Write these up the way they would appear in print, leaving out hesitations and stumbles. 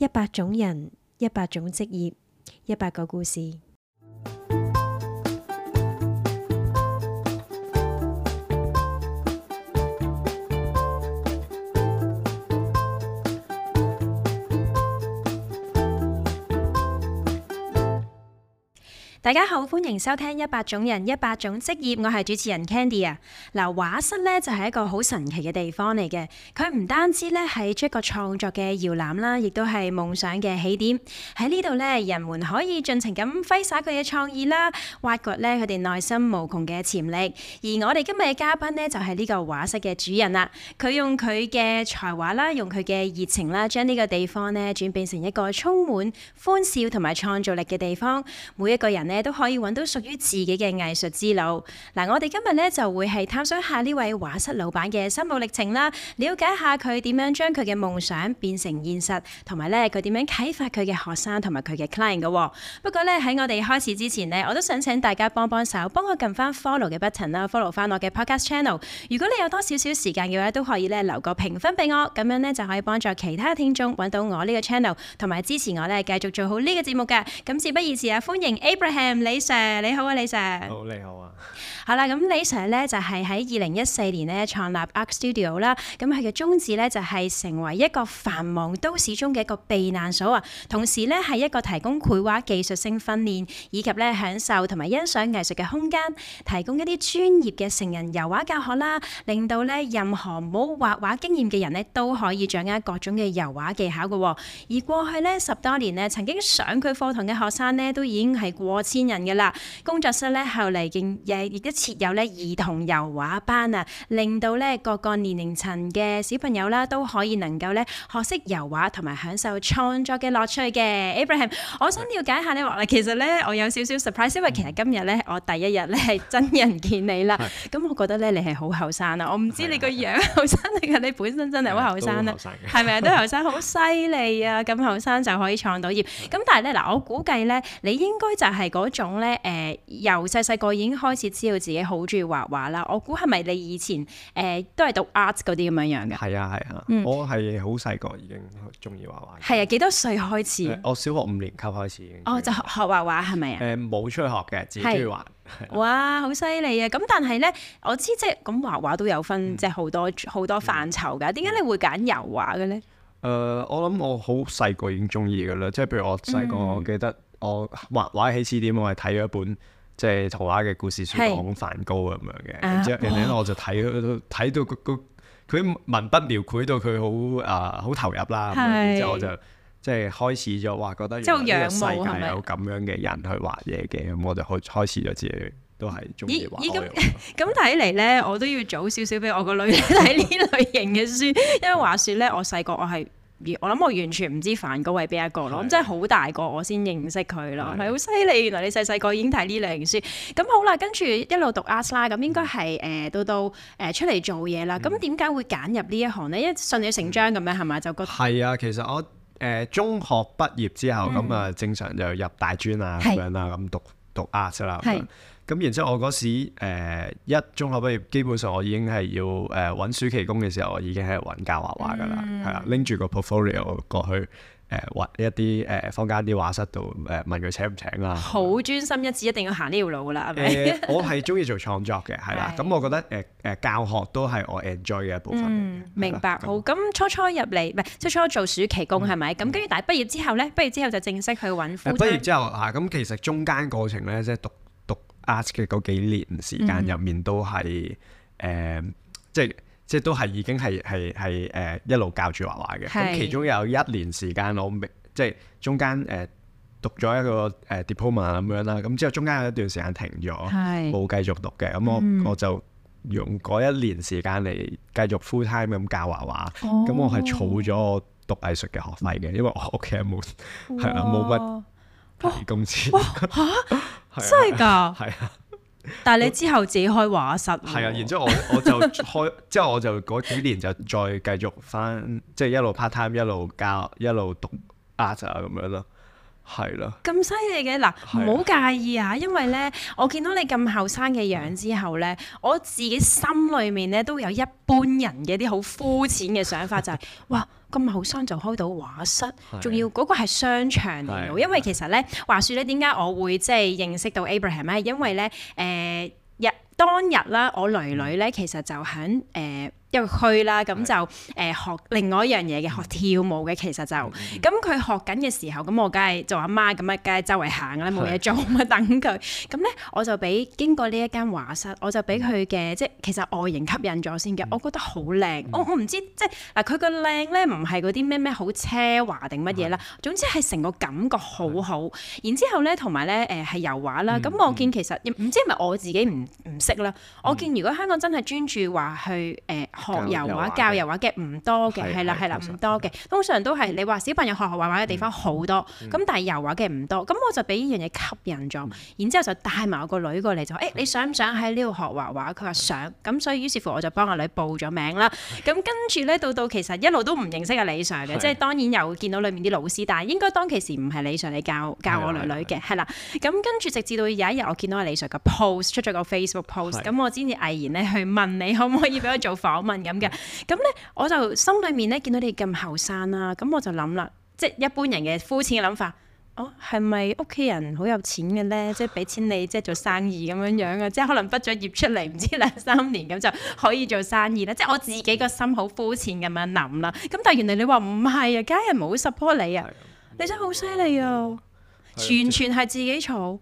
100種人，100種職業，100個故事。大家好，歡迎收聽100種人100種職業，我係主持人 Candy 啊。嗱，畫室咧就係一個好神奇嘅地方嚟嘅，佢唔單止咧係一個創作嘅搖籃啦，亦都係夢想嘅起點。喺呢度咧，人們可以盡情咁揮灑佢嘅創意啦，挖掘咧佢哋內心無窮嘅潛力。而我哋今日嘅嘉賓呢，就係呢個畫室嘅主人啦。佢用佢嘅才華啦，用佢嘅熱情啦，將呢個地方呢轉變成一個充滿歡笑同埋創造力嘅地方。每一個人呢，都可以揾到屬於自己嘅藝術之路。嗱，我哋今日咧就會係探索下呢位畫室老闆嘅心路歷程啦，了解下佢點樣將佢嘅夢想變成現實，同埋咧佢點樣啟發佢嘅學生同埋佢嘅 client 嘅。不過咧喺我哋開始之前呢，我都想請大家幫手，幫我撳翻 follow 嘅 button 啦，follow 翻我嘅 podcast channel。如果你有多少少時間嘅話，都可以咧留個評分俾我，咁樣咧就可以幫助其他聽眾揾到我呢個 channel，同埋支持我咧繼續做好呢個節目㗎。咁事不宜遲啊，歡迎 Abraham 李 Sir， 你好啊，李 Sir。 好，你好啊。 好啦，咁李 Sir 咧就係喺2014年咧創立 Arc Studio 啦。咁佢嘅宗旨咧就係成為一個繁忙都市中嘅一個避難所啊。同時咧係一個提供繪畫技術性訓練，以及咧享受同埋欣賞藝術嘅空間，提供一啲專業嘅成人油畫教學啦，令到咧任何冇畫畫經驗嘅人咧都可以掌握各種嘅油畫技巧嘅。而過去咧10多年咧，曾經上佢課堂嘅學生咧都已經係過千人嘅啦。工作室咧後嚟亦都設有咧兒童油畫班啊，令到咧各個年齡層嘅小朋友啦都可以能夠咧學識油畫同埋享受創作嘅樂趣嘅。Abraham， 我想了解下你話，其實咧我有少少 surprise， 因為其實今日咧我第一日咧係真人見你啦。咁我覺得咧你係好後生啊，我唔知你個樣後生定係你本身真係好後生啊？係咪啊？都後生，好犀利啊！咁後生就可以創到業。咁但係咧嗱，我估計咧你應該就係嗰種咧由細個已經開始知道自己好中意畫畫啦。我估係咪你以前都係讀 art 嗰啲咁樣嘅？ 係啊，我係好細個已經中意畫畫。係啊， 幾多歲開始？ 我小學5年級開始已經。 就學畫畫係咪啊？ 冇出去學嘅，自己中意畫。 哇，好犀利啊！咁但係咧，我知即係咁畫畫都有分即係好多範疇㗎。點解你會揀油畫嘅咧？ 我諗我好細個已經中意㗎啦，即係譬如我細個，我記得我畫畫起始點，我係睇咗一本即係圖畫嘅故事書，講梵高咁樣嘅。然之後我就睇到佢文筆描繪到佢好投入啦。然之後我就即係開始咗話覺得原來呢個世界有咁樣嘅人去畫嘢嘅，咁我就開始咗自己都係中意畫。 咁睇嚟咧，我都要早少少俾我個女睇呢類型嘅書，因為話說咧，我細個我諗我完全唔知梵高係邊一個咯，咁真係好大個我先認識佢咯，係好犀利！原來你細個已經睇呢類型書。咁好啦，跟住一路讀 art 啦，咁應該係到出嚟做嘢啦。咁點解會揀入呢一行咧？因為順理成章咁樣係咪？就覺得係啊，其實我中學畢業之後咁啊，正常就入大專啊咁樣啦，咁讀 art 啦。咁然之後我嗰時一中學畢業，基本上我已經係要揾暑期工嘅時候，我已經係揾教畫畫噶啦，係啦，拎住個 portfolio 過去畫一啲坊間啲畫室度問佢請唔請啦。 好專心一致，一定要行呢條路噶啦，係咪？ 我係中意做創作嘅，係啦。咁我覺得教學都係我 enjoy 嘅一部分。 明白。好，咁初入嚟唔係初做暑期工係咪？咁跟住但係畢業之後咧，畢業之後就正式去揾 full time。 畢業之後咁其實中間過程咧，即係讀 art 嘅嗰幾年時間入面都係即係都係已經係一路教住畫畫嘅。咁其中有1年時間我即係中間讀咗一個diploma 咁樣啦。咁之後中間有一段時間停咗，冇繼續讀嘅。咁我就用嗰1年時間嚟繼續 full time 咁教畫畫。咁我係儲咗我讀藝術嘅學費嘅，因為我屋企冇乜提供錢。 真係㗎？ 係啊。 但係你之後自己開畫室。係啊，然之後我就開，之後我就嗰幾年就再繼續翻，即係一路 part time 一路教一路讀 art 啊咁樣咯。 係咯， 咁犀利嘅嗱，唔好介意啊，因為咧，我見到你咁後生嘅樣之後咧，我自己心裏面咧都有一般人嘅啲好膚淺嘅想法，就係哇咁後生就開到畫室，仲要嗰個係商場嚟嘅，因為其實咧話説咧，點解我會即係認識到 Abraham 咧？因為咧當日啦，我囡囡咧其實就喺一個區啦，咁就學另外一樣嘢嘅，學跳舞嘅。其實就咁佢學緊嘅時候，咁我梗係做阿媽咁啊，梗係周圍行啦，冇嘢做咁等佢。咁咧我就俾經過呢一間畫室，我就俾佢嘅即係其實外形吸引咗先嘅，我覺得好靚。我唔知即係嗱，佢個靚咧唔係嗰啲咩好奢華定乜嘢啦，總之係成個感覺好好。然之後咧同埋咧係油畫啦，咁我見其實唔知係咪我自己唔識啦。我見如果香港真係專注話去學油畫、教油畫嘅唔多嘅，係啦唔多嘅，通常都係你話小朋友學畫畫嘅地方好多，咁但係油畫嘅唔多，咁我就俾呢樣嘢吸引咗，然之後就帶埋我個女過嚟就你想唔想喺呢度學畫畫？佢話想，咁所以於是乎我就幫阿女報咗名啦。咁跟住咧到其實一路都唔認識阿李 Sir 嘅，即係當然有見到裡面啲老師，但係應該當其時唔係李 Sir 嚟教我女嘅，係啦。咁跟住直至到有一日我見到阿李 Sir 嘅 post 出咗個 Facebook post，咁我先至毅然咧去問你可唔可以俾我做訪問咁嘅。咁咧，我就心裏面咧見到你咁後生啦，咁我就諗啦，即係一般人嘅膚淺嘅諗法，係咪屋企人好有錢嘅咧？即係俾錢你即係做生意咁樣樣啊？即係可能畢咗業出嚟唔知2-3年咁就可以做生意啦。即係我自己個心好膚淺咁樣諗啦。咁但係原來你話唔係啊，家人冇 support 你啊，你真係好犀利啊！完全係自己儲。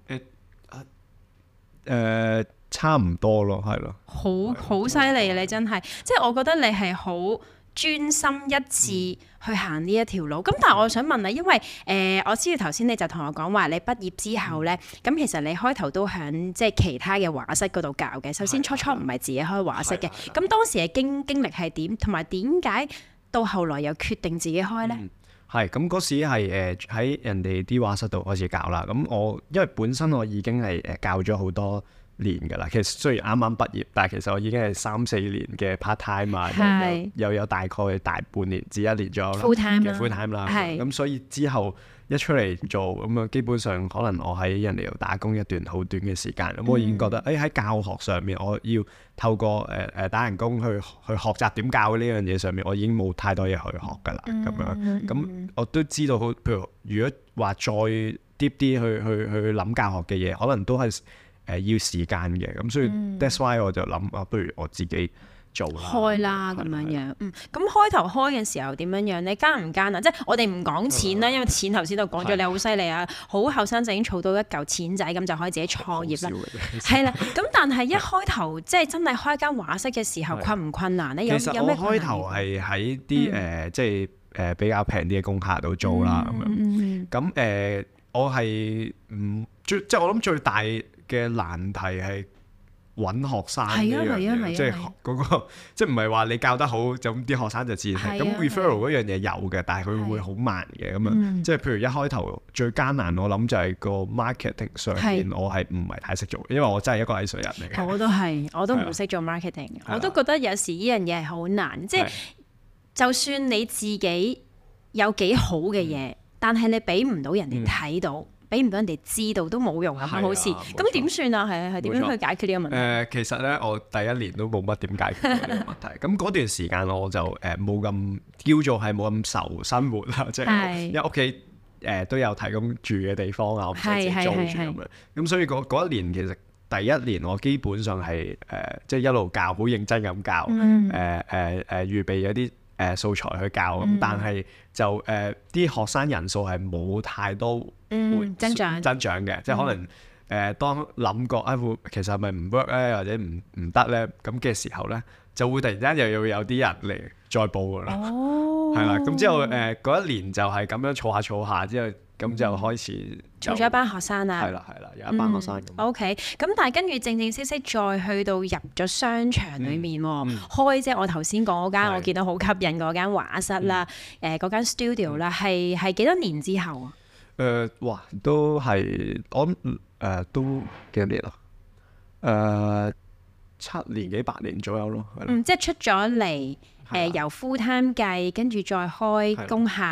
差唔多咯，係咯， 好犀利啊！你真係，即係我覺得你係好專心一致去行呢一條路。咁但係我想問你，因為我知道頭先你就同我講話，你畢業之後咧，咁其實你開頭都響即係其他嘅畫室嗰度教嘅。首先初唔係自己開畫室嘅，咁當時嘅經歷係點？同埋點解到後來又決定自己開咧？ 係咁嗰時係喺人哋啲畫室度開始教啦。咁我因為本身我已經係教咗好多年㗎啦，其實雖然啱啱畢業，但係其實我已經係3-4年嘅 part time 啊，又有大概大半年至1年左右啦 full time 啦，咁所以之後一出嚟做咁啊，基本上可能我喺人哋度打工一段好短嘅時間，咁我已經覺得喺教學上面我要透過打人工去學習點教呢樣嘢上面，我已經冇太多嘢去學㗎啦，咁樣咁我都知道，譬如果話再 deep 啲去諗教學嘅嘢，可能都係要時間嘅，咁所以 that's why 我就諗不如我自己做啦， 開啦咁樣樣。咁開頭開嘅時候點樣樣？你艱唔艱啊？即係我哋唔講錢啦，因為錢頭先都講咗，你好犀利啊，好後生就已經儲到一嚿錢仔，咁就可以自己創業啦。係啦，咁但係一開頭即係真係開間畫室嘅時候，困唔困難咧？ 其實我開頭係喺啲即係比較平啲嘅工廈度租啦，咁樣。咁我係即係我諗最大嘅難題係揾學生呢樣嘢，即係嗰個即係唔係話你教得好就咁啲學生就自然係咁。referral 嗰樣嘢有嘅，但係佢會好慢嘅咁樣。即係譬如一開頭最艱難，我諗就係個 marketing 上面我係唔係太識做，因為我真係一個藝術人嚟嘅。我都唔識做 marketing，我都覺得有時呢樣嘢係好難。即係就算你自己有幾好嘅嘢，但係你俾唔到人哋睇到。俾唔到人哋知道都冇用啊，好似咁點算啊？係點樣去解決呢個問題？ 其實咧，我第一年都冇乜點解決呢個問題。咁嗰段時間我就冇咁叫做係冇咁愁生活啦，即係因為屋企都有提供住嘅地方啊，我唔使自己租住咁樣。咁所以嗰一年其實第一年我基本上係即係一路教，好認真咁教，預備咗啲素材去教，咁但係就啲學生人數係冇太多增長嘅，即係可能當諗過其實係咪唔 work 咧，或者唔得咧，咁嘅時候咧，就會突然間又要有啲人嚟再報噶啦，係啦，咁之後嗰一年就係咁樣儲下之後，咁就開始儲咗一班學生啦， 係啦，有一班學生。 OK， 咁但係跟住正式再去到入咗商場裡面開，即係我頭先講嗰間我見到好吸引嗰間畫室啦，嗰間 studio 啦，係幾多年之後啊？ 哇，都係我諗都幾多年啦？7年幾8年左右咯， 即係出咗嚟由 full time 計，跟住再開工廈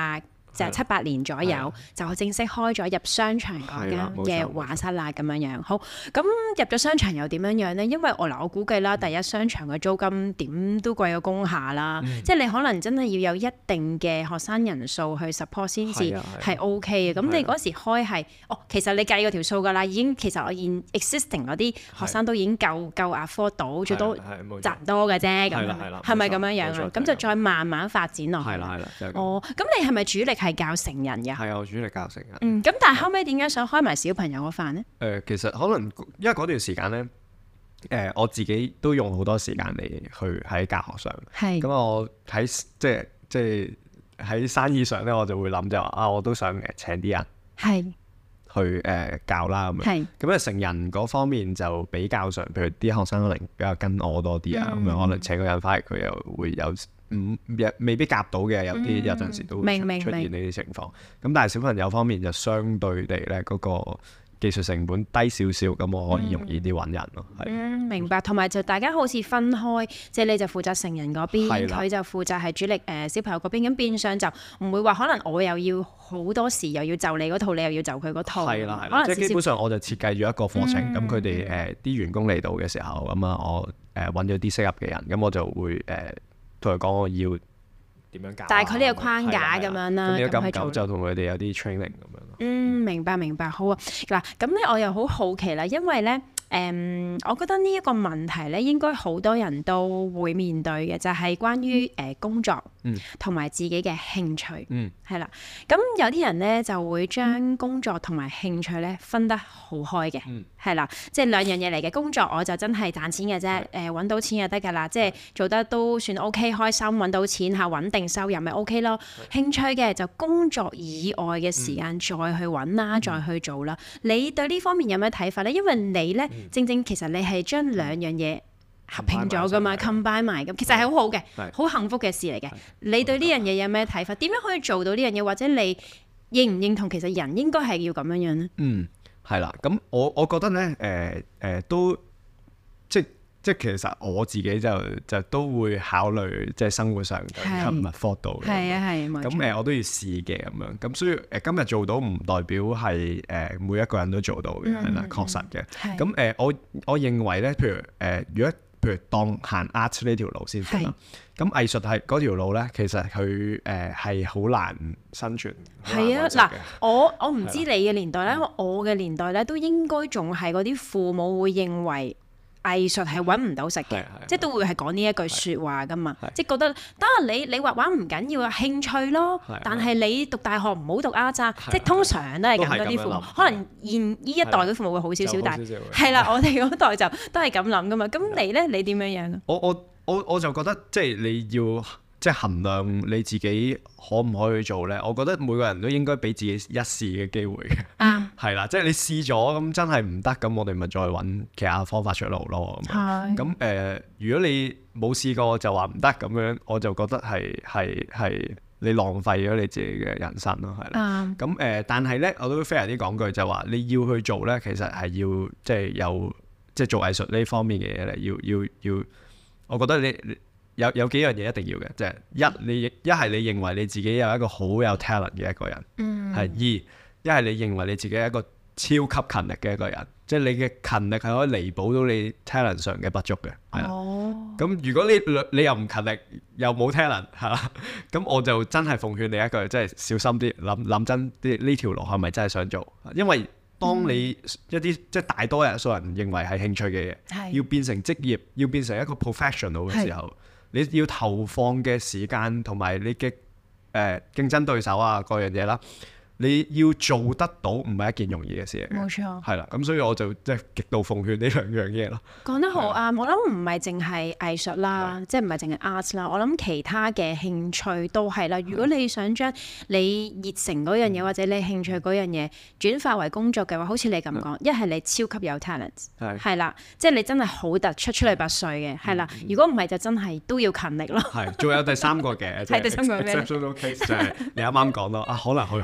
就係7-8年左右就正式開咗入商場嗰間嘅畫室啦咁樣樣。好，咁入咗商場又點樣樣呢？因為我估計啦，第一商場嘅租金點都貴過工廈啦，即係你可能真係要有一定嘅學生人數去 support 先至係 OK 嘅。咁你嗰時開係其實你計嗰條數㗎啦，已經其實我現 existing 嗰啲學生都已經夠 afford 到，最多賺唔多嘅啫。咁係咪咁樣樣啊？咁就再慢慢發展落去。係啦，咁你係咪主力係教成人嘅？係啊， 我主力教成人。 咁但係後尾點解想開埋小朋友嗰範呢？ 其實可能因為嗰段時間咧，我自己都用好多時間嚟去喺教學上。咁我喺即係喺生意上咧，我就會諗就話我都想請啲人去教啦咁樣。咁成人嗰方面就比較上，譬如啲學生可能比較跟我多啲啊，咁樣可能請個人翻嚟，佢又會有。未必夾到嘅，有陣時都會出現呢啲情況。咁但係小朋友方面就相對地咧，嗰個技術成本低少少，咁我可以容易啲揾人咯。 明白。同埋就大家好似分開，即係你就負責成人嗰邊，佢就負責係主力小朋友嗰邊。咁變相就唔會話可能我又要好多時又要就你嗰套，你又要就佢嗰套。係啦， 即係基本上我就設計咗一個課程。咁佢哋啲員工嚟到嘅時候，咁我揾咗啲適合嘅人，咁我就會同佢講我要點樣教，大概呢個框架咁樣啦。咁就同佢哋有啲 training 咁樣。 明白，好啊。嗱，咁咧我又好好奇啦，因為咧我覺得呢一個問題咧，應該好多人都會面對嘅，就係關於工作同埋自己嘅興趣。係啦。咁有啲人咧就會將工作同埋興趣咧分得好開嘅。係啦，即係兩樣嘢嚟嘅。工作我就真係賺錢嘅啫，揾到錢就得㗎啦，即係做得都算 OK， 開心揾到錢嚇，穩定收入咪 OK 咯。興趣嘅就工作以外嘅時間再去揾啦，再去做啦。你對呢方面有咩睇法咧？因為你咧正其實你係將兩樣嘢合併咗㗎嘛 ，combine 埋咁，其實係好好嘅，好幸福嘅事嚟嘅。你對呢樣嘢有咩睇法？點樣可以做到呢樣嘢？或者你認唔認同其實人應該係要咁樣樣咧？ 係啦，咁我覺得咧，都即其實我自己就都會考慮即係生活上嘅吸引力到嘅。係咁我都要試嘅咁樣。咁所以今日做到唔代表係每一個人都做到嘅，係啦，確實嘅。咁我認為咧，譬如譬如當行 art 呢條路先啦。咁藝術係嗰條路咧，其實佢係好難生存。係啊，嗱， 我唔知你嘅年代咧，因為我嘅年代咧都應該仲係嗰啲父母會認為藝術係揾唔到食嘅，即係都會係講呢一句説話噶嘛，即係覺得得你畫畫唔緊要啊，興趣咯，但係你讀大學唔好讀 art 咋，即係通常都係咁嗰啲父母，可能現呢一代嘅父母會好少少，但係係啦，我哋嗰代就都係咁諗噶嘛。咁你咧，你點樣樣啊？ 我就覺得即係你要即係衡量你自己可唔可以去做咧。我覺得每個人都應該俾自己一試嘅機會嘅。係啦，即係你試咗咁真係唔得，咁我哋咪再揾其他方法出路咯。咁如果你冇試過就話唔得咁樣，我就覺得係你浪費咗你自己嘅人生咯，係啦。咁但係咧，我都非常之講句就話你要去做咧，其實係要即係有即係做藝術呢方面嘅嘢咧，要。我覺得你有幾樣嘢一定要嘅，即係一係你認為你自己有一個好有 talent 嘅一個人，係二一係你認為你自己係一個超級勤力嘅一個人，即係你嘅勤力係可以彌補到你 talent 上嘅不足嘅，係啦。咁如果你又唔勤力又冇 talent 係啦，咁我就真係奉勸你一句，即係小心啲諗真啲呢條路係咪真係想做？因為當你一啲即係大多數人認為係興趣嘅嘢，要變成職業，要變成一個 professional 嘅時候，你要投放嘅時間同埋你嘅競爭對手啊各樣嘢啦。你要做得到唔係一件容易嘅事嚟嘅，冇錯，係啦，咁所以我就即係極度奉勸呢兩樣嘢咯。講得好啱，我諗唔係淨係藝術啦，即係唔係淨係 art 啦，我諗其他嘅興趣都係啦。如果你想將你熱誠嗰樣嘢或者你興趣嗰樣嘢轉化為工作嘅話，好似你咁講，一係你超級有 talent， 係啦，即係你真係好突出嚟拔萃嘅，係啦。如果唔係就真係都要勤力咯。係，仲有第三個嘅，係第三個咩？ exceptional case 就係你啱啱講到啊，可能佢好有錢。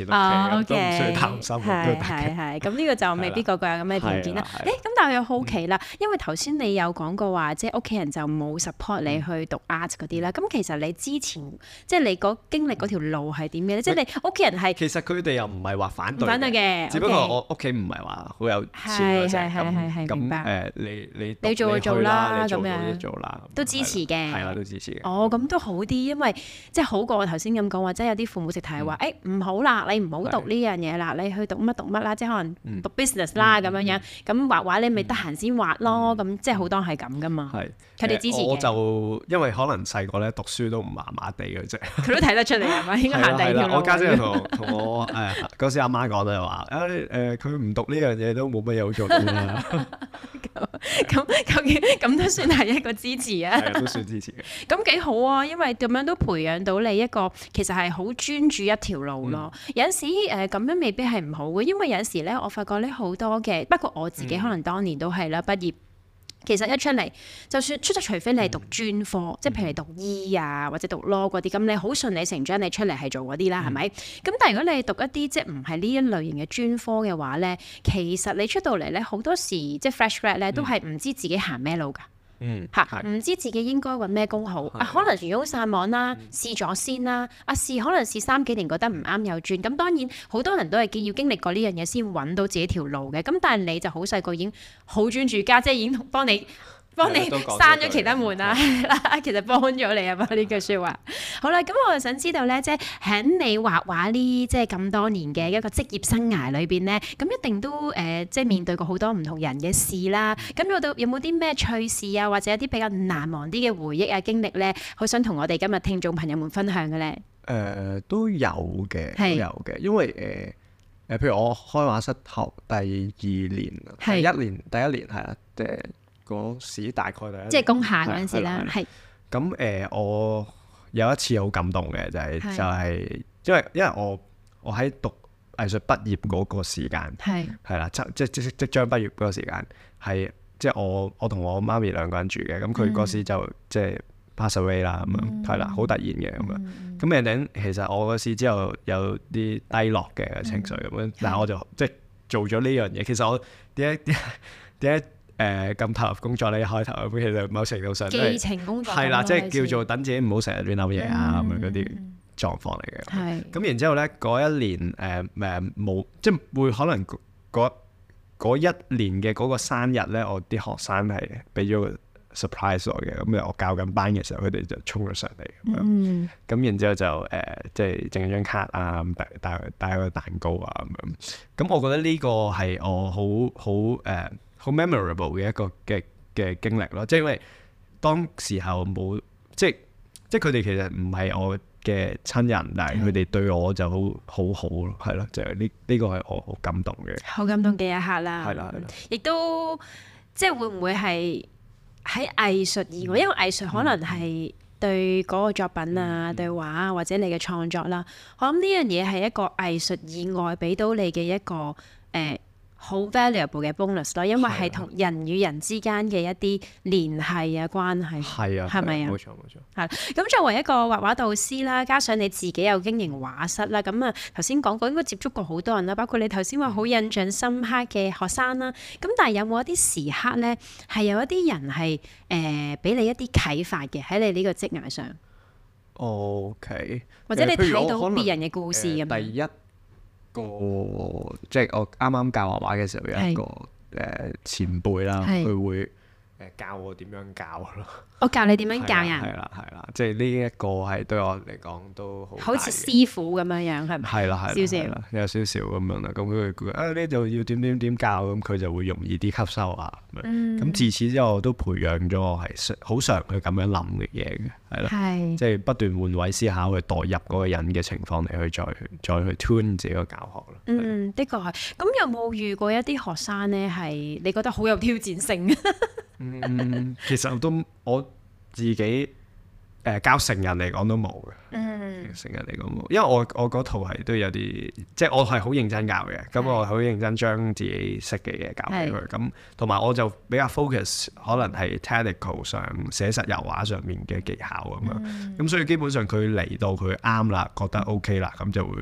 錢屋企，都唔需要擔心。 係，咁呢個就未必個個有咁嘅條件啦。咁但係我又好奇啦，因為頭先你有講過話，即係屋企人就冇 support 你去讀 art 嗰啲啦。咁其實你之前即係你經歷嗰條路係點嘅咧？即係你屋企人係其實佢哋又唔係話反對嘅， 只不過我屋企唔係話好有錢係明白。 你做就做啦，咁樣做啦， 都支持嘅。 係啦，都支持嘅。 哦，咁都好啲，因為即係好過我頭先咁講話，即係有啲父母直頭係話，唔好啦，你唔好讀呢樣嘢啦，你去讀乜啦，即係可能讀 business 啦咁樣樣。咁畫畫你咪得閒先畫咯，咁即係好多係咁噶嘛。係，佢哋支持嘅。我就因為可能細個咧讀書都唔麻麻地嘅啫。 佢都睇得出嚟係咪？應該行第二條路。 我家姐同我嗰時阿媽講就係話，佢唔讀呢樣嘢都冇乜嘢好做啦。咁都算係一個支持啊。係都算支持嘅。咁幾好啊，因為咁樣都培養到你一個其實係好專注一條路咯。有陣時咁樣未必係唔好嘅，因為有陣時咧，我發覺咧好多嘅，不過我自己可能當年都係啦，畢業。其實一出嚟，就算除非你係讀專科，即係譬如你讀醫啊或者讀 law 嗰啲，咁你好順理成章你出嚟係做嗰啲啦，係咪？咁但係如果你係讀一啲即係唔係呢一類型嘅專科嘅話咧，其實你出到嚟咧好多時即係 fresh grad 咧都係唔知自己行咩路㗎。唔知自己應該揾咩工好啊？可能魚翁撒網啦，試咗先啦。可能試3幾年覺得唔啱又轉。咁當然好多人都係要經歷過呢樣嘢先揾到自己條路嘅。咁但係你就好細個已經好專注，家姐已經幫你閂咗其他門啦，其實幫咗你啊嘛呢句説話。好啦，咁我就想知道咧，即係喺你畫畫呢即係咁多年嘅一個職業生涯裏邊咧，咁一定都即係面對過好多唔同人嘅事啦。咁有冇啲咩趣事啊，或者一啲比較難忘啲嘅回憶啊經歷咧，好想同我哋今日聽眾朋友們分享嘅咧？ 都有嘅，因為譬如我開畫室頭第二年，第一年係啦，嗰時大概即係工廈嗰陣時啦，係。 咁我有一次好感動嘅就係因為我喺讀藝術畢業嗰個時間係啦，即將畢業嗰個時間係即係我同我媽咪兩個人住嘅，咁佢嗰時就即係 pass away 啦咁樣，係啦，好突然嘅咁樣。咁誒其實我嗰時之後有啲低落嘅情緒咁樣，但係我就即係做咗呢樣嘢。其實我點解咁投入工作咧？一開頭咁其實某程度上寄情工作係啦，即係叫做等自己唔好成日亂諗嘢啊咁樣嗰啲狀況嚟嘅。係咁然之後咧，嗰一年冇即係會可能嗰一年嘅嗰個生日咧，我啲學生係俾咗個 surprise 我嘅。咁我教緊班嘅時候，佢哋就衝咗上嚟咁樣。咁然之後就即係整張卡啊，帶個蛋糕啊咁樣。咁我覺得呢個係我好 memorable 嘅一個嘅經歷咯，即係因為當時候冇即係佢哋其實唔係我嘅親人，但係佢哋對我就好咯，係咯，就係呢個係我好感動嘅， 好感動嘅一刻啦。 係啦， 亦都即係會唔會係喺藝術以外，因為藝術可能係對嗰個作品啊、對畫啊或者你嘅創作啦，我諗呢樣嘢係一個藝術以外俾到你嘅一個好 valuable 嘅 bonus 咯，因為係同人與人之間嘅一啲聯繫啊、關係，係咪啊？冇錯。係咁，作為一個畫畫導師啦，加上你自己有經營畫室啦，咁啊頭先講過應該接觸過好多人啦，包括你頭先話好印象深刻嘅學生啦。咁但係有冇一啲時刻咧，係有一啲人係俾你一啲啟發嘅喺你呢個職涯上？OK，或者你睇到別人嘅故事咁。 第一即係我啱啱教畫畫嘅時候，有一個前輩啦，佢會教我點樣教咯。我教你點樣教人？係啦，即係呢一個係對我嚟講都好似師傅咁樣樣，係咪？係啦， 少少有少少咁樣啦。咁佢呢度要點教，咁佢就會容易啲吸收啊。咁自此之後，我都培養咗我係好常去咁樣諗嘅嘢嘅，係啦，即係不斷換位思考，去代入嗰個人嘅情況嚟去再去 tune 自己個教學咯。的確係。咁有冇遇過一啲學生咧，係你覺得好有挑戰性？其實我自己教成人嚟講都冇嘅，成人嚟講冇，因為我嗰套係都有啲，即係我係好認真教嘅，咁我好認真將自己識嘅嘢教俾佢，咁同埋我就比較 focus 可能係 technical 上寫實油畫上面嘅技巧咁樣，咁所以基本上佢嚟到佢啱啦，覺得 OK 啦，咁就會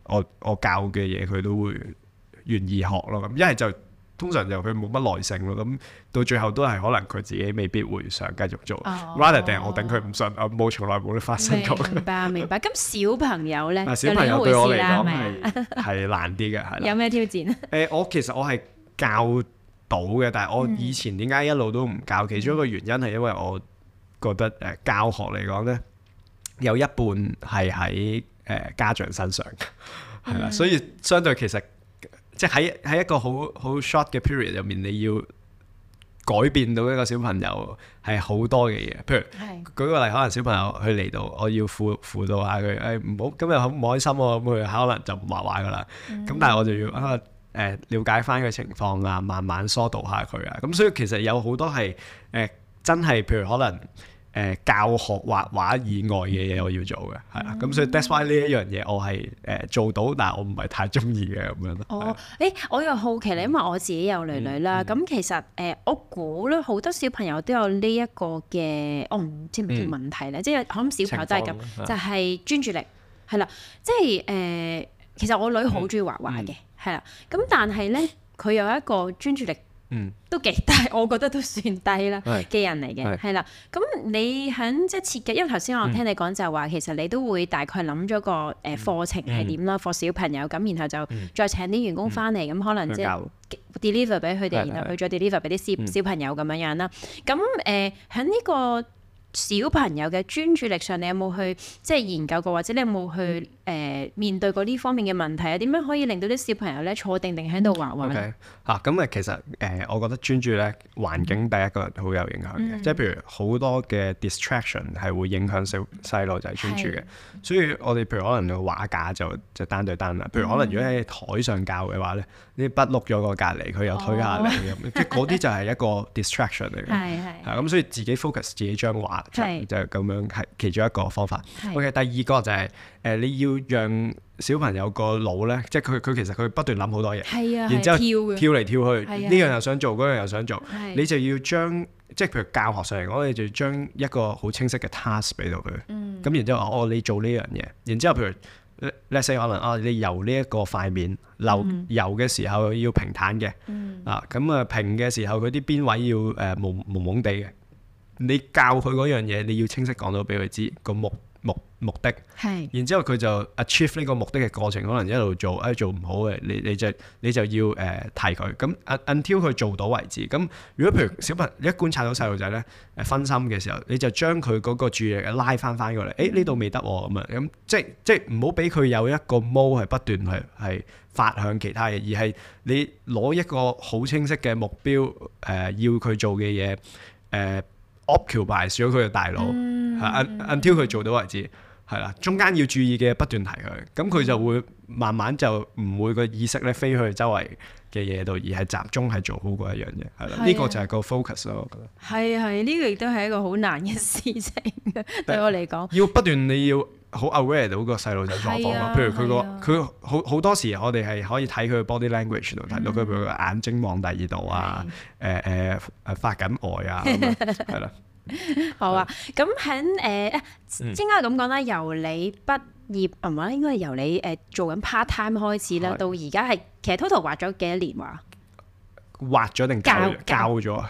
我教嘅嘢佢都會願意學咯。咁一係就通常就佢冇乜耐性咯。咁到最後都係可能佢自己未必會想繼續做。rather 定係我頂佢唔順，我從來冇得發生過。 明白。咁小朋友咧， 小朋友對我嚟講係係難啲嘅，係啦。 有咩挑戰？ 其實我係教到嘅，但係我以前點解一路都唔教？其中一個原因係因為我覺得教學嚟講咧，有一半係喺家長身上，係啦，所以相對其實即係喺一個好 short 嘅 period 入面，你要改變到一個小朋友係好多嘅嘢。譬如舉個例，可能小朋友佢嚟到，我要輔導下佢，唔好今日好唔開心喎，咁佢可能就唔畫畫噶啦。咁但係我就要了解翻佢情況啊，慢慢疏導下佢啊。咁所以其實有好多係真係譬如可能教學畫畫以外嘅嘢我要做嘅，係啦。咁所以 that's why 呢一樣嘢我係做到，但係我唔係太中意嘅咁樣咯。 我又好奇咧，因為我自己有女女啦。咁其實我估咧好多小朋友都有呢一個嘅，我唔知唔知問題咧，即係可能小朋友都係咁，就係專注力係啦。即係其實我女好中意畫畫嘅。係啦，咁但係咧，佢有一個專注力，都幾低，我覺得都算低啦嘅人嚟嘅，係啦。咁你喺即係設計，因為頭先我聽你講就係話，其實你都會大概諗咗個課程係點啦，課小朋友咁，然後就再請啲員工翻嚟，咁可能即係 deliver 俾佢哋，然後佢再 deliver 俾啲小朋友咁樣樣啦。咁喺呢個小朋友嘅專注力上，你有冇去即係研究過，或者你有冇去面對過呢方面嘅問題啊？點樣可以令到啲小朋友咧坐定定喺度畫畫咧？ 咁其實我覺得專注咧，環境第一個好有影響嘅，即係譬如好多嘅 distraction 係會影響細路仔專注嘅。所以我哋譬如可能個畫架就單對單啦。譬如可能如果喺台上教嘅話咧，啲筆碌咗個隔離，佢又推下嚟咁，即係嗰啲就係一個 distraction 嚟嘅。係咁，所以自己 focus 自己張畫。就咁樣係其中一個方法。OK， 第二個就係你要讓小朋友個腦咧，即係佢其實佢不斷諗好多嘢，然之後跳嚟跳去，呢樣又想做，嗰樣又想做，你就要將即係譬如教學上嚟講，你就要將一個好清晰嘅 task 俾到佢。咁然之後你做呢樣嘢，然之後譬如 let's say 可能你游呢一個塊面，游嘅時候要平坦嘅，咁平嘅時候佢啲邊位要蒙蒙地嘅。你教佢嗰樣嘢，你要清晰講到俾佢知個目的，然之後佢就 achieve 呢個目的嘅過程，可能一路做，做唔好嘅，你就要提佢，咁 until 佢做到為止。咁如果譬如小朋友一觀察到細路仔咧分心嘅時候，你就將佢嗰個注意力拉翻過嚟，呢度未得喎咁啊，咁即係唔好俾佢有一個 mode 係不斷係發向其他嘢，而係你攞一個好清晰嘅目標，要佢做嘅嘢occupy 咗佢嘅大腦，until 佢做到為止，係啦。中間要注意嘅不斷提佢，咁佢就會慢慢就唔會個意識咧飛去周圍嘅嘢度，而係集中係做好嗰一樣嘢，係啦。呢個就係個 focus 咯，我覺得。係呢個亦都係一個好難嘅事情，對我嚟講。 要不斷你要好 aware 到個細路仔狀況咯。譬如佢好多時，我哋係可以睇佢 body language 度睇到佢，譬如眼睛望第二度啊，發緊呆啊，係啦。 好啊，咁喺應該咁講啦，由你畢業唔係應該係由你做緊 part time 開始啦，到而家係其實 total 畫咗幾多年話？ 畫咗定教咗啊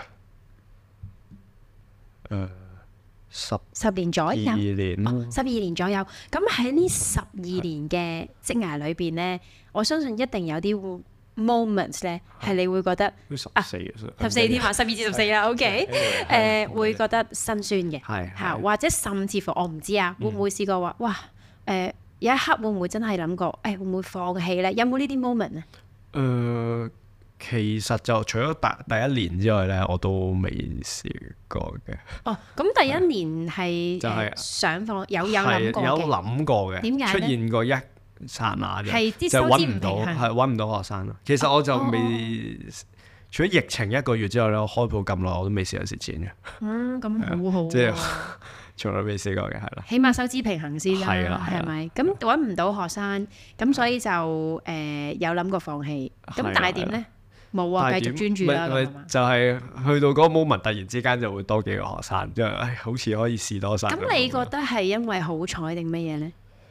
？10年左右，12年 ，12年左右。咁喺呢12年嘅職涯裏邊咧，我相信一定有啲moments 咧，係你會覺得14添啊，12至14啦，OK，會覺得辛酸嘅，嚇，或者甚至乎我唔知啊，會唔會試過話，哇，有一刻會唔會真係諗過，會唔會放棄咧？有冇呢啲 moment 咧？ 其實就除咗第一年之外咧，我都未試過嘅。 咁第一年係想放，有諗過嘅， 有諗過嘅，點解出現過一剎那啫，就揾唔到，揾唔到學生咯。其實我就未，除咗疫情1個月之後咧，我開鋪咁耐，我都未試過蝕錢嘅。 咁好好， 即係從來未試過嘅，係啦。 起碼收支平衡先啦，係咪？咁揾唔到學生，咁所以就有諗過放棄。咁但係點咧？冇啊，繼續專注啦。 就係去到嗰個 moment，突然之間就會多幾個學生，即係好似可以試多晒。 咁你覺得係因為好彩定乜嘢咧？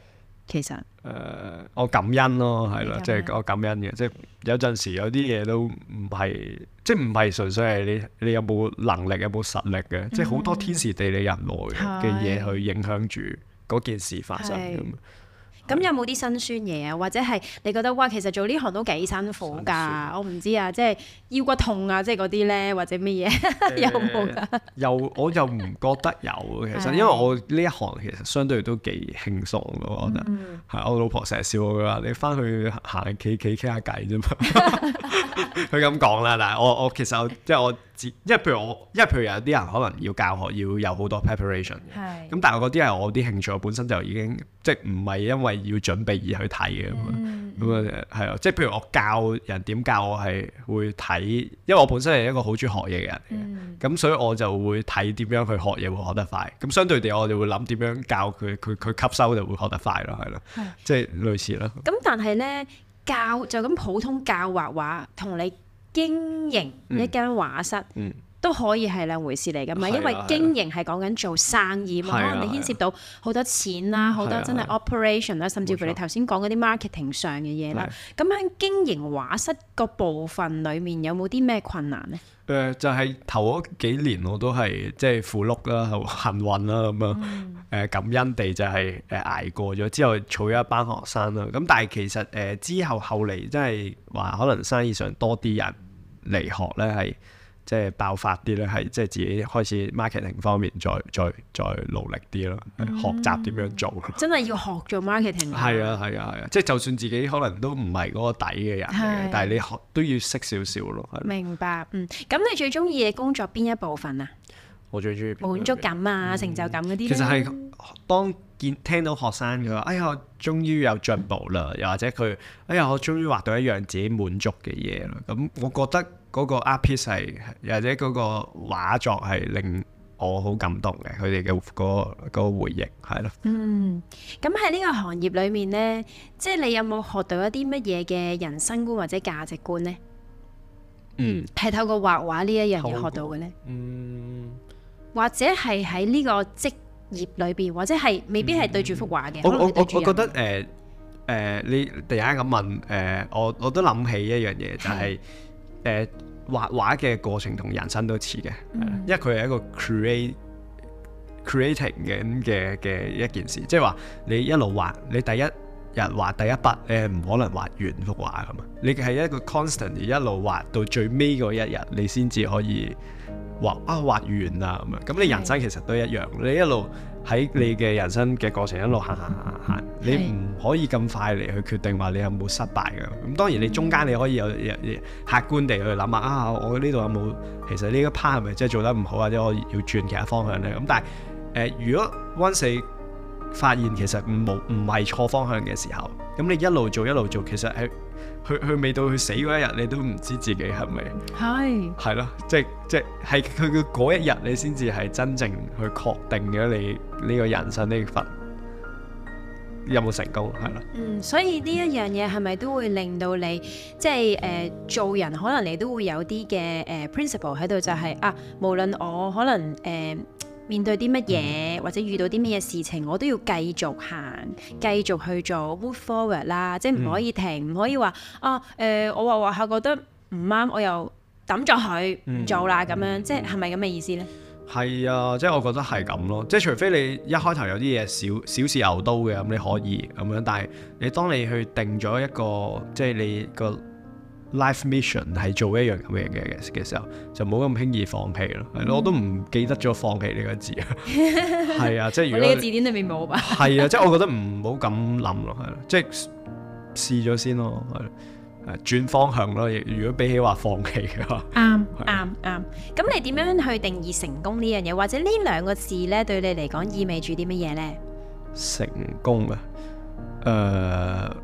其實我感恩咯，係咯，即係我感恩嘅，即係有陣時有啲嘢都唔係，即係唔係純粹係你有冇能力有冇實力嘅，即係好多天時地利人和嘅嘢去影響住嗰件事發生咁。 咁有冇啲辛酸嘢啊？或者係你覺得哇，其實做呢行都幾辛苦㗎？我唔知啊，即係腰骨痛啊，即係嗰啲咧，或者乜嘢有冇㗎？ 我又唔覺得有，其實因為我呢一行其實相對都幾輕鬆嘅，我覺得係。我老婆成日笑我㗎，你翻去行企傾下偈啫嘛。佢咁講啦，但係我其實即係我因為譬如有啲人可能要教學要有好多 preparation 嘅，咁但係我嗰啲係我啲興趣，我本身就已經即係唔係因為要準備而去睇嘅咁啊，係啊，即係譬如我教人點教，我係會睇，因為我本身係一個好中意學嘢嘅人嘅，咁所以我就會睇點樣去學嘢會學得快，咁相對地我哋會諗點樣教佢吸收就會學得快咯，係咯，即係類似咯。 咁但係咧教就咁普通教畫畫，同你經營一間畫室，都可以係兩回事嚟㗎嘛，因為經營係講緊做生意嘛，可能你牽涉到好多錢啦，好多真係 operation 啦，甚至乎你頭先講嗰啲 marketing 上嘅嘢啦。咁喺經營畫室個部分裡面，有冇啲咩困難呢？ 就係頭嗰幾年我都係即係符碌啦，幸運啦咁樣。感恩地就係捱過咗之後，儲咗一班學生啦。咁但係其實之後嚟真係話可能生意上多啲人嚟學咧，係即係爆發啲咧，係即係自己開始 marketing 方面再努力啲咯，學習點樣做。真係要學做 marketing。係啊，即係就算自己可能都唔係嗰個底嘅人嚟嘅，但係你學都要識少少咯。 明白，咁你最中意嘅工作邊一部分啊？ 我最中意滿足感啊、成就感嗰啲。 其實係當聽到學生佢話：哎呀，我終於有進步啦！又或者佢：哎呀，我終於畫到一樣自己滿足嘅嘢啦！咁我覺得嗰個 art piece 係，或者嗰個畫作係令我好感動嘅。佢哋嘅嗰個回憶係咯。 咁喺呢個行業裏面呢，即係你有冇學到一啲乜嘢嘅人生觀或者價值觀呢？係透過畫畫呢一樣嘢學到嘅呢？或者係喺呢個職業裏邊，或者係未必係對住幅畫嘅。我覺得你突然間咁問我都諗起一樣嘢，就係畫畫嘅過程同人生都似嘅，因為佢係一個 creating 嘅一件事，即係話你一路畫，你第一日畫第一筆，你係唔可能畫完幅畫噶嘛，你係一個 constant 一路畫到最尾嗰一日，你先至可以畫完啦咁樣。咁你人生其實都一樣，你一路喺你嘅人生嘅過程一路行，你唔可以咁快嚟去決定話你有冇失敗㗎。咁當然你中間你可以有客觀地去諗下我呢度有冇其實呢一 part 係咪真係做得唔好，或者我要轉其他方向咧？咁但係如果 once 你發現其實唔係錯方向嘅時候，咁你一路做，其實係去未到去死嗰一日，你都唔知自己係咪係咯，即係佢嘅嗰一日，你先至係真正去確定咗你呢個人生呢份有冇成功，係咯。所以呢一樣嘢係咪都會令到你即係做人，可能你都會有啲嘅principle 喺度，就係無論我可能面對啲乜嘢或者遇到啲乜嘢事情，我都要繼續行，繼續去做 move forward 啦，即係唔可以停，唔可以話我話下覺得唔啱，我又抌咗佢唔做啦咁樣，即係咪咁嘅意思呢？係啊，即係我覺得係咁咯，即係除非你一開頭有啲嘢小試牛刀嘅，咁你可以咁樣，但係你當你去定咗一個即係你個life mission 係做一樣咁嘅嘢嘅時候，就冇咁輕易放棄咯。係咯，我都唔記得咗放棄呢個字啊。係啊，即係如果你嘅字典裏面冇吧？係啊，即係我覺得唔好咁諗咯，係咯，即係試咗先咯，係轉方向咯。如果比起話放棄嘅話，啱。咁你點樣去定義成功呢樣嘢？或者呢兩個字咧，對你嚟講意味住啲乜嘢咧？成功啊，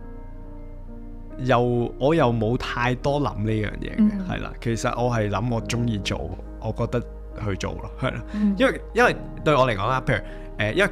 我又冇太多諗呢樣嘢嘅，係啦。其實我係諗我中意做，我覺得去做咯，係啦。因為對我嚟講啦，譬如因為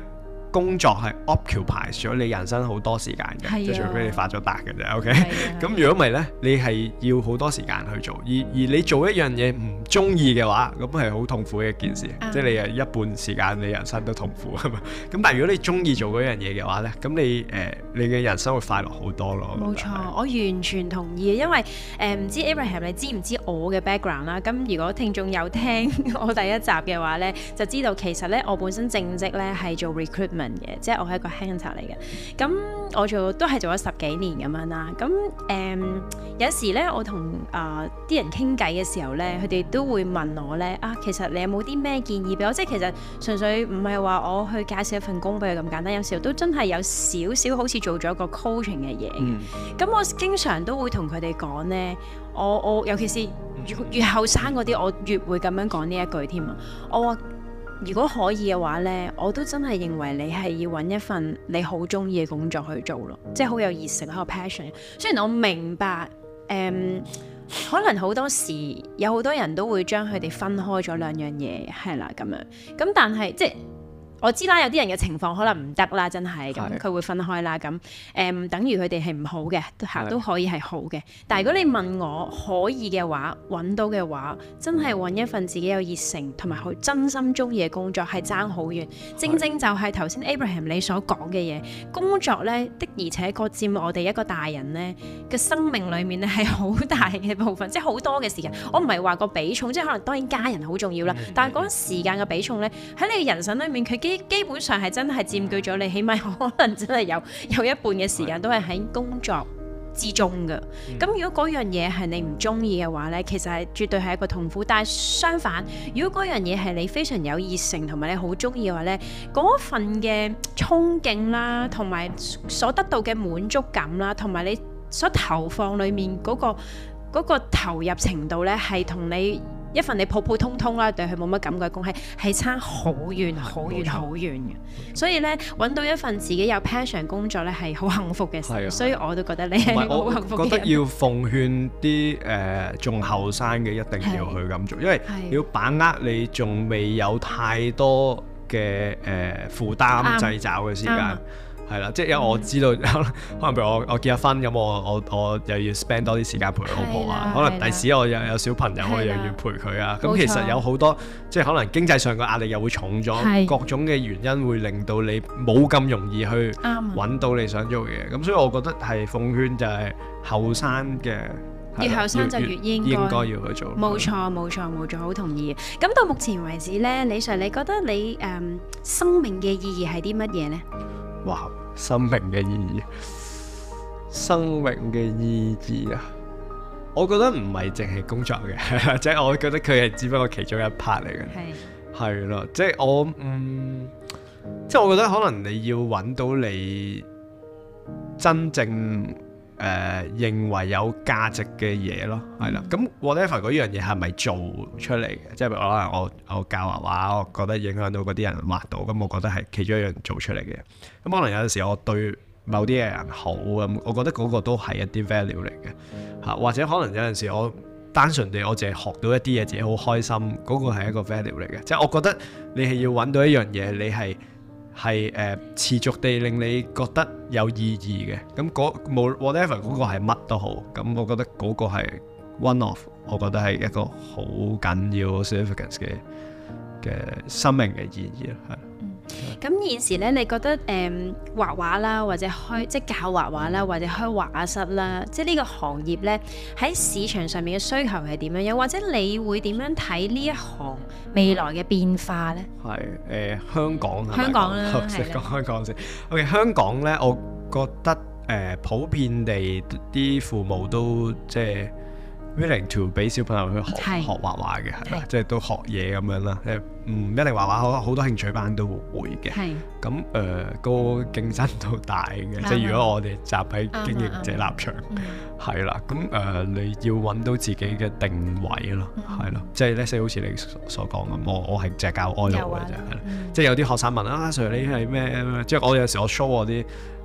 工作係 occupy 咗你人生好多時間嘅，即係除非你發咗達嘅啫。OK，咁如果唔係咧，你係要好多時間去做，而你做一樣嘢唔中意嘅話，咁係好痛苦嘅一件事，即係你係一半時間你人生都痛苦啊嘛。咁但係如果你中意做嗰樣嘢嘅話咧，咁你嘅人生會快樂好多咯。 冇錯，我完全同意，因為唔知 Abraham 你知唔知我嘅 background 啦？咁如果聽眾有聽我第一集嘅話咧，就知道其實咧我本身正職咧係做 recruitment 嘅，即係我係一個 hunter 嚟嘅。咁我都係做咗10幾年咁樣啦。咁有時咧我同啲人傾偈嘅時候咧，佢哋都會問我咧其實你有冇啲咩建議俾我？即係其實純粹唔係話我去介紹一份工俾佢咁簡單，有時候都真係有少少好似做咗個 coaching 嘅嘢。咁我經常都會同佢哋講咧，我尤其是越後生嗰啲，我越會咁樣講呢一句添啊！我話如果可以嘅話咧，我都真係認為你係要揾一份你好中意嘅工作去做咯，即係好有熱誠，好有 passion。雖然我明白可能好多時有好多人都會將佢哋分開咗兩樣嘢，係啦咁樣。咁但係即係我知啦，有啲人嘅情況可能唔得啦，真係咁佢會分開啦。咁等於佢哋係唔好嘅，都可以係好嘅。但係如果你問我可以嘅話，揾到嘅話，真係揾一份自己有熱誠同埋好真心中意嘅工作係爭好遠。正正就係頭先 Abraham 你所講嘅嘢，工作咧的而且確佔我哋一個大人咧嘅生命裡面咧係好大嘅部分，即係好多嘅時間。我唔係話個比重，即係可能當然家人好重要啦，但係嗰時間嘅比重咧喺你嘅人生裡面，佢基本上係真係佔據咗你，起碼可能真係有一半嘅時間都係喺工作之中嘅。咁如果嗰樣嘢係你唔中意嘅話呢，其實係絕對係一個痛苦。但係相反，如果嗰樣嘢係你非常有熱誠同埋你好中意嘅話呢，嗰份嘅衝勁啦，同埋所得到嘅滿足感啦，同埋你所投放裡面嗰個投入程度呢，係同你一份你普普通通啦，對佢冇乜感覺嘅工係差好遠好遠好遠嘅。所以咧，揾到一份自己有 passion 工作咧係好幸福嘅事。所以我都覺得你係好幸福嘅人。我覺得要奉勸啲仲後生嘅一定要去咁做，因為要把握你仲未有太多嘅負擔掣肘嘅時間。係啦，即係因為我知道，可能譬如我結咗婚咁，我又要 spend 多啲時間陪佢老婆啊。可能第時我又有小朋友，我又要陪佢啊。咁其實有好多即係可能經濟上嘅壓力又會重咗，各種嘅原因會令到你冇咁容易去揾到你想做嘅嘢。咁所以我覺得係奉勸就係後生嘅。 越後生就越應該要去做。 冇錯，好同意。咁到目前為止咧，李 Sir， 你覺得你生命嘅意義係啲乜嘢呢？ 哇！生命嘅意義啊！我覺得唔係淨係工作嘅，即係我覺得佢係只不過其中一 part 嚟嘅。係咯，即係即係我覺得可能你要揾到你真正認為有價值嘅嘢咯，係啦。咁 whatever 嗰樣嘢係咪做出嚟嘅？即係譬如可能我教畫畫，我覺得影響到嗰啲人畫到，咁我覺得係其中一樣做出嚟嘅。咁可能有陣時我對某啲嘅人好咁，我覺得嗰個都係一啲 value 嚟嘅嚇。或者可能有陣時我單純地我淨係學到一啲嘢，自己好開心，嗰個係一個 value 嚟嘅。即係我覺得你係要揾到一樣嘢，你係持續地令你覺得有意義嘅，咁冇 whatever 嗰個係乜都好，咁我覺得嗰個係 one of， 我覺得係一個好緊要 significance 嘅生命嘅意義啦，係。 咁現時咧，你覺得畫畫啦，或者即係教畫畫啦，或者開畫畫室啦，即係呢個行業咧喺市場上面嘅需求係點樣？又或者你會點樣睇呢一行未來嘅變化咧？ 係香港啦， 先講香港先。OK， 香港咧，我覺得普遍地啲父母都即係 willing to 俾小朋友去學畫畫嘅，係啦，即係都學嘢咁樣啦。唔一定畫畫，好多興趣班都會嘅。咁個競爭都大嘅，即係如果我哋站喺經營者立場，係啦。咁你要揾到自己嘅定位咯，係咯。即係咧，好似你所講咁，我係淨係教 oil 嘅啫，係啦。即係有啲學生問啊，Sir 你係咩？即係我有時我 show 我啲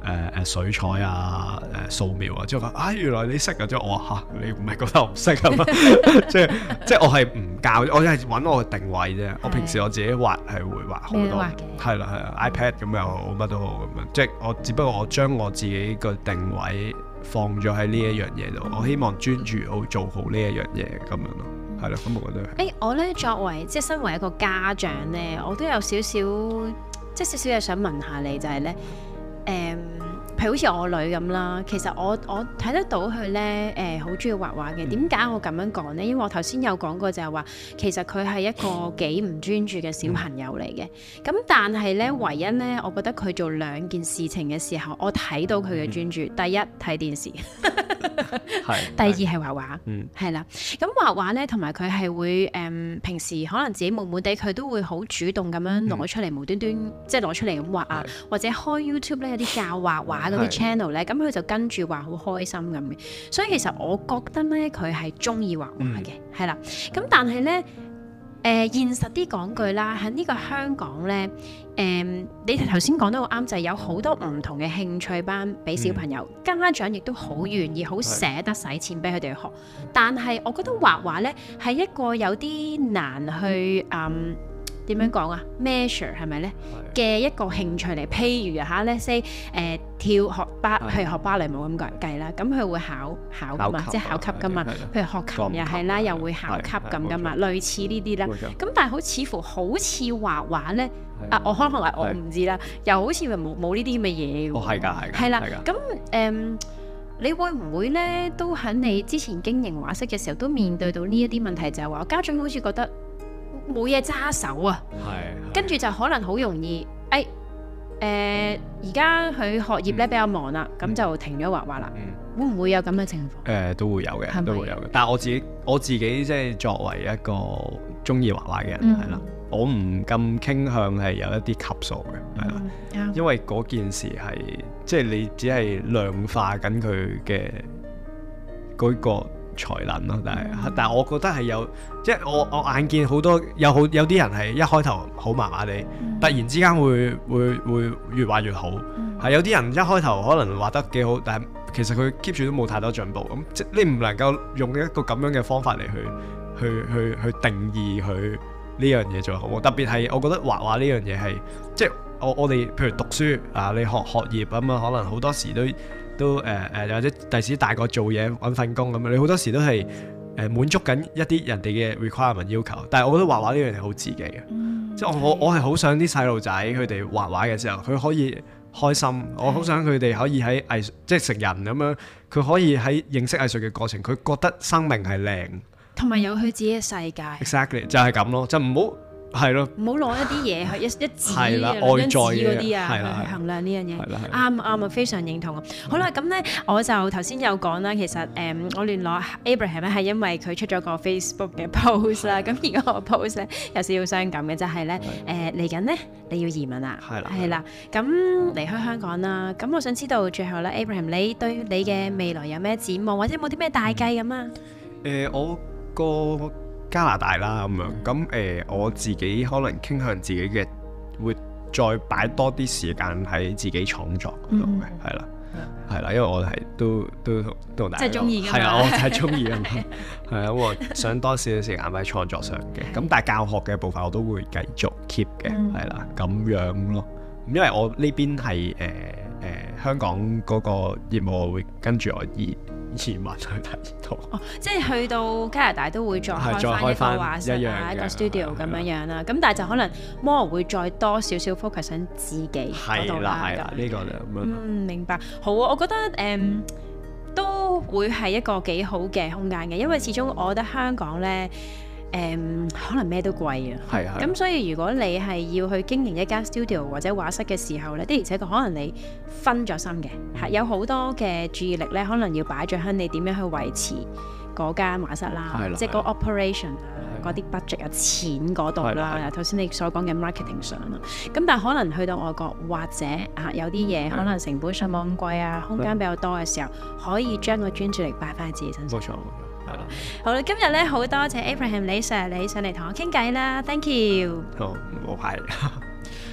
水彩啊、素描啊，之後話原來你識啊，之後我話嚇你唔係覺得我唔識啊嘛？即係我係唔教，我係揾我嘅定位啫。我平時我自己畫係會畫好多，係啦 iPad 咁又好，乜都好咁樣。即係我只不過我將我自己個定位放咗喺呢一樣嘢度，我希望專注好做好呢一樣嘢咁樣咯。係咯，咁我覺得我咧作為即係身為一個家長咧，我都有少少嘢想問下你，就係咧譬如好似我女咁啦，其實我睇得到佢咧好中意畫畫嘅。點解我咁樣講咧？因為我頭先有講過就係話，其實佢係一個幾唔專注嘅小朋友嚟嘅。咁但係咧，唯一咧，我覺得佢做兩件事情嘅時候，我睇到佢嘅專注。第一睇電視，第二係畫畫，係啦。咁畫畫咧，同埋佢係會平時可能自己悶悶地，佢都會好主動咁樣攞出嚟，無端端即係攞出嚟咁畫啊，或者開 YouTube 咧有啲教畫畫嗰啲 channel 咧，咁佢就跟住畫好開心咁嘅。所以其實我覺得咧，佢係中意畫畫嘅，係啦。咁但係咧，現實啲講句啦，喺呢個香港咧，你頭先講得好啱，就係有好多唔同嘅興趣班俾小朋友，家長亦都好願意、好捨得使錢俾佢哋去學。但係我覺得畫畫咧係一個有啲難去點樣講啊 measure 係咪咧嘅一個興趣嚟？譬如嚇咧 say 跳學譬如學芭蕾舞咁計啦，咁佢會考㗎嘛，即係考級㗎嘛。譬如學琴又係啦，又會考級咁㗎嘛，類似呢啲啦。咁但係似乎好似畫畫咧，我可能我唔知啦，又好似冇呢啲咁嘅嘢喎。 係㗎， 係啦。咁你會唔會咧都喺你之前經營畫室嘅時候都面對到呢一啲問題，就係話家長好似覺得冇嘢揸手啊，跟住就可能好容易，而家佢學業咧比較忙啦，咁就停咗畫畫啦。會唔會有咁嘅情況？ 都會有嘅，都會有嘅。但係我自己即係作為一個中意畫畫嘅人，係啦，我唔咁傾向係有一啲級數嘅，係啦，因為嗰件事係即係你只係量化緊佢嘅嗰個才能咯，但係我覺得係有，即係我眼見好多有啲人係一開頭好麻麻地，突然之間會越畫越好，係有啲人一開頭可能畫得幾好，但係其實佢 keep 住都冇太多進步，咁即你唔能夠用一個咁樣嘅方法嚟去定義佢呢樣嘢最好，特別係我覺得畫畫呢樣嘢係即係我哋譬如讀書啊，你學業咁啊，可能好多時都或者第時大個做嘢揾份工咁樣，你好多時都係滿足緊一啲人哋嘅 requirement 要求，但係我覺得畫畫呢樣嘢好自己嘅，即係我係好想啲細路仔佢哋畫畫嘅時候，佢可以開心，我好想佢哋可以喺藝術即係成人咁樣，佢可以喺認識藝術嘅過程，佢覺得生命係靚，同埋有佢自己嘅世界。 Exactly 就係咁咯，就唔好。係咯，唔好攞一啲嘢去一紙啊、兩張紙嗰啲啊去衡量呢樣嘢。啱啊，非常認同啊。好啦，咁咧我就頭先有講啦，其實我聯絡 Abraham 咧係因為佢出咗個 Facebook 嘅 post 啦。咁而家個 post 咧有少少傷感嘅，就係咧嚟緊咧你要移民啦，係啦，咁離開香港啦。咁我想知道最後咧 Abraham 你對你嘅未來有咩展望，或者有冇啲咩大計咁啊？我個加拿大啦咁樣，咁我自己可能傾向自己嘅會再擺多啲時間喺自己創作嗰度嘅，係啦，因為我係都同大家即係中意嘅，係啊，我係中意嘅，係啊，我想多少少時間喺創作上嘅，咁但係教學嘅部分我都會繼續 keep 嘅，係啦，咁樣咯，因為我呢邊係香港嗰個業務我會跟住我移民去第二度，即係去到加拿大都會再開翻一個畫室啊，一個 studio 咁樣樣啦。咁但係就可能 more 會再多少少 focus 喺自己嗰度啦。係啦，呢個就咁樣。明白。好啊，我覺得都會係一個幾好嘅空間嘅，因為始終我覺得香港咧。可能咩都貴啊，咁所以如果你係要去經營一間 studio 或者畫室嘅時候咧，的而且確可能你分咗心嘅，係有好多嘅注意力咧，可能要擺咗喺你點樣去維持嗰間畫室啦，即係嗰個 operation 啊，嗰啲 budget 啊，錢嗰度啦，頭先你所講嘅 marketing 上啦，咁但係可能去到外國或者有啲嘢可能成本上冇咁貴啊，空間比較多嘅時候，可以將個專注力擺翻喺自己身上。冇錯。好啦，今日咧好多謝 Abraham 李 Sir 你上嚟同我傾偈啦 ，Thank you。好，唔好客氣。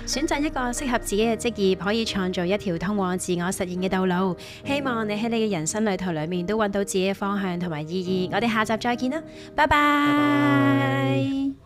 選擇一個適合自己嘅職業，可以創造一條通往自我實現嘅道路。希望你喺你嘅人生旅途裏面都揾到自己嘅方向同埋意義。我哋下集再見啦，拜拜。